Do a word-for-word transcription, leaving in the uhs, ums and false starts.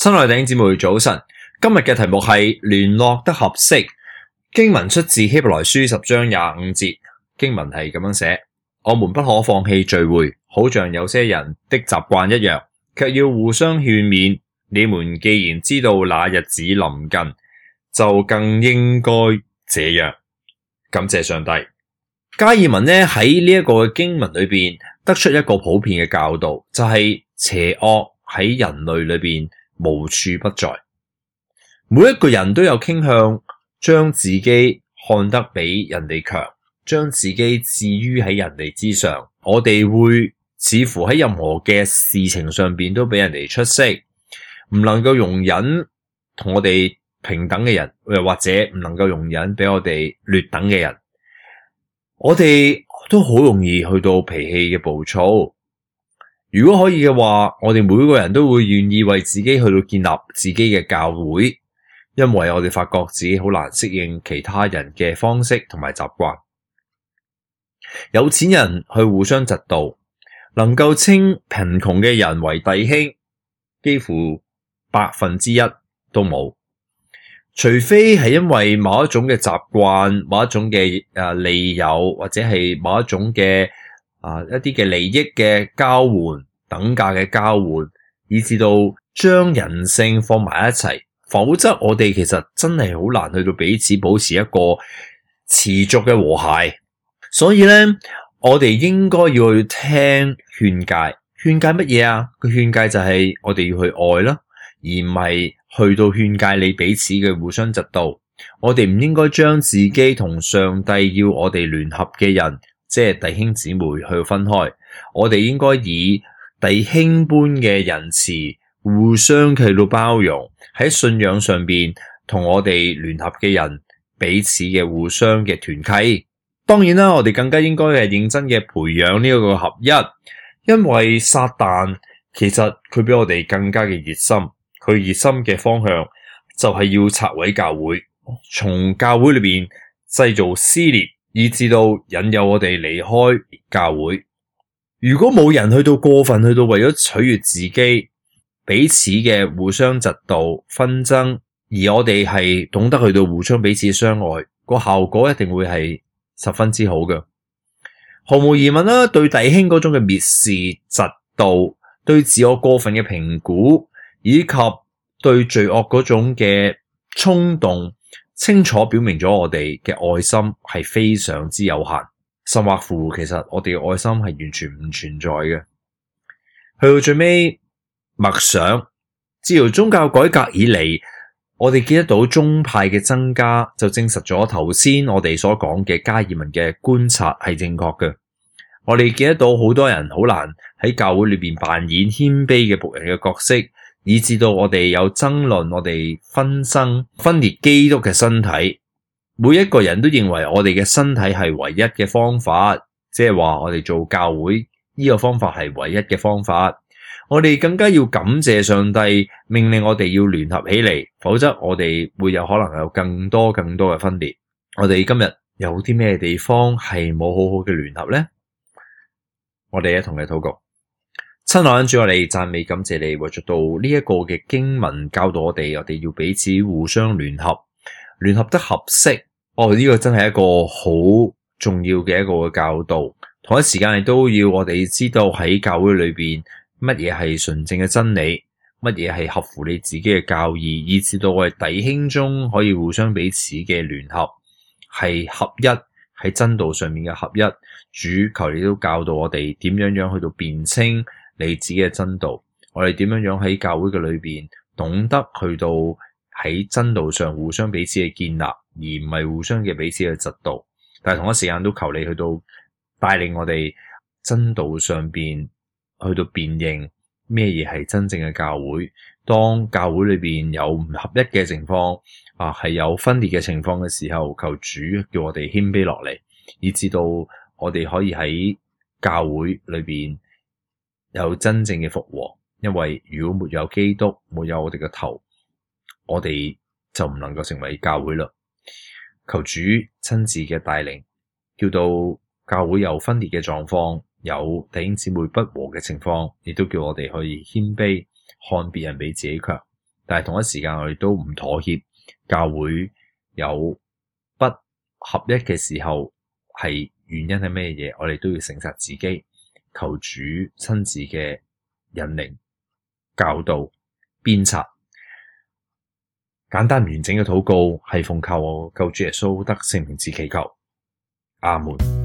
親愛的弟兄姊妹早晨，今日嘅題目係聯絡得合適。經文出自希伯來書十章廿五節，經文係咁樣寫：我們不可放棄聚會，好像有些人的習慣一樣，卻要互相勸勉。你們既然知道那日子臨近，就更應該這樣。感謝上帝。加爾文呢喺呢一個經文裏邊得出一個普遍嘅教導，就係、是、邪惡喺人類裏邊無處不在。每一個人都有傾向將自己看得比人哋強，將自己置於喺人哋之上。我哋會似乎喺任何嘅事情上邊都比人哋出色，唔能夠容忍同我哋平等嘅人，又或者唔能夠容忍比我哋劣等嘅人。我哋都好容易去到脾氣嘅暴躁。如果可以嘅話，我哋每個人都會願意為自己去到建立自己嘅教會，因為我哋發覺自己好難適應其他人嘅方式同埋習慣。有錢人去互相嫉妒，能夠稱貧窮嘅人為弟兄，幾乎百分之一都冇。除非係因為某一種嘅習慣、某一種嘅誒利誘，或者係某一種嘅啊一啲嘅利益嘅交換、等價嘅交換，以至到將人性放埋一齊，否則我哋其實真係好難去到彼此保持一個持續嘅和諧。所以咧，我哋應該要去聽勸誡。勸誡乜嘢啊？個勸誡就係我哋要去愛啦，而唔係去到勸誡你彼此嘅互相嫉妒。我哋唔應該將自己同上帝要我哋聯合嘅人，即係弟兄姊妹去分開。我哋應該以弟兄般嘅仁慈，互相去到包容，喺信仰上邊同我哋聯合嘅人彼此嘅互相嘅團契。當然啦，我哋更加應該係認真嘅培養呢一個合一，因為撒旦其實佢比我哋更加嘅熱心。佢熱心嘅方向就係要拆毀教會，從教會裏邊製造撕裂，以至到引誘我哋離開教會。如果冇人去到過分去到為咗取悅自己，彼此嘅互相嫉妒紛爭，而我哋係懂得去到互相彼此相愛，個效果一定會係十分之好嘅。毫無疑問啦，對弟兄嗰種嘅蔑視、嫉妒，對自我過分嘅評估，以及對罪惡嗰種嘅衝動，清楚表明咗我哋嘅愛心係非常之有限，甚或乎其實我哋嘅愛心係完全唔存在嘅。去到最尾默想，自從宗教改革以嚟，我哋見得到宗派嘅增加，就證實咗頭先我哋所講嘅加爾文嘅觀察係正確嘅。我哋見得到好多人好難喺教會裏邊扮演謙卑嘅僕人嘅角色，以致到我哋有爭論，我哋紛爭分裂基督嘅身體。每一個人都認為我哋嘅身體係唯一嘅方法，即係話我哋做教會呢個方法係唯一嘅方法。我哋更加要感謝上帝命令我哋要聯合起嚟，否則我哋會有可能有更多更多嘅分裂。我哋今日有啲咩地方係冇好好嘅聯合呢？我哋一同嚟禱告。親愛的主，我哋讚美感謝你，為咗到呢一個嘅經文教導我哋，我哋要彼此互相聯合，聯合得合適。哦，呢個真係一個好重要嘅一個教導。同一時間亦都要我哋知道喺教會裏邊乜嘢係純正嘅真理，乜嘢係合乎你自己嘅教義，以至到我哋弟兄中可以互相彼此嘅聯合，係合一喺真道上面嘅合一。主求你都教導我哋點樣樣去到辨清你自己嘅真道，我哋點樣樣喺教會嘅裏邊懂得去到喺真道上互相彼此嘅建立，而唔係互相嘅彼此嘅嫉妒。但係同一時間都求你去到帶領我哋真道上邊去到辨認咩嘢係真正嘅教會。當教會裏邊有唔合一嘅情況啊，係有分裂嘅情況嘅時候，求主叫我哋謙卑落嚟，以至到我哋可以喺教會裏邊有真正嘅復和。因為如果沒有基督，沒有我哋嘅頭，我哋就唔能夠成為教會啦。求主親自嘅帶領，叫到教會有分裂嘅狀況，有弟兄姊妹不和嘅情況，亦都叫我哋可以謙卑，看別人比自己強， 但係同一時間我哋都唔妥協。教會有不合一嘅時候，係原因係咩嘢？我哋都要誠實自己，求主親自嘅引領、教導、鞭策。簡單完整嘅禱告係奉靠我救主耶穌得聖名字祈求，阿門。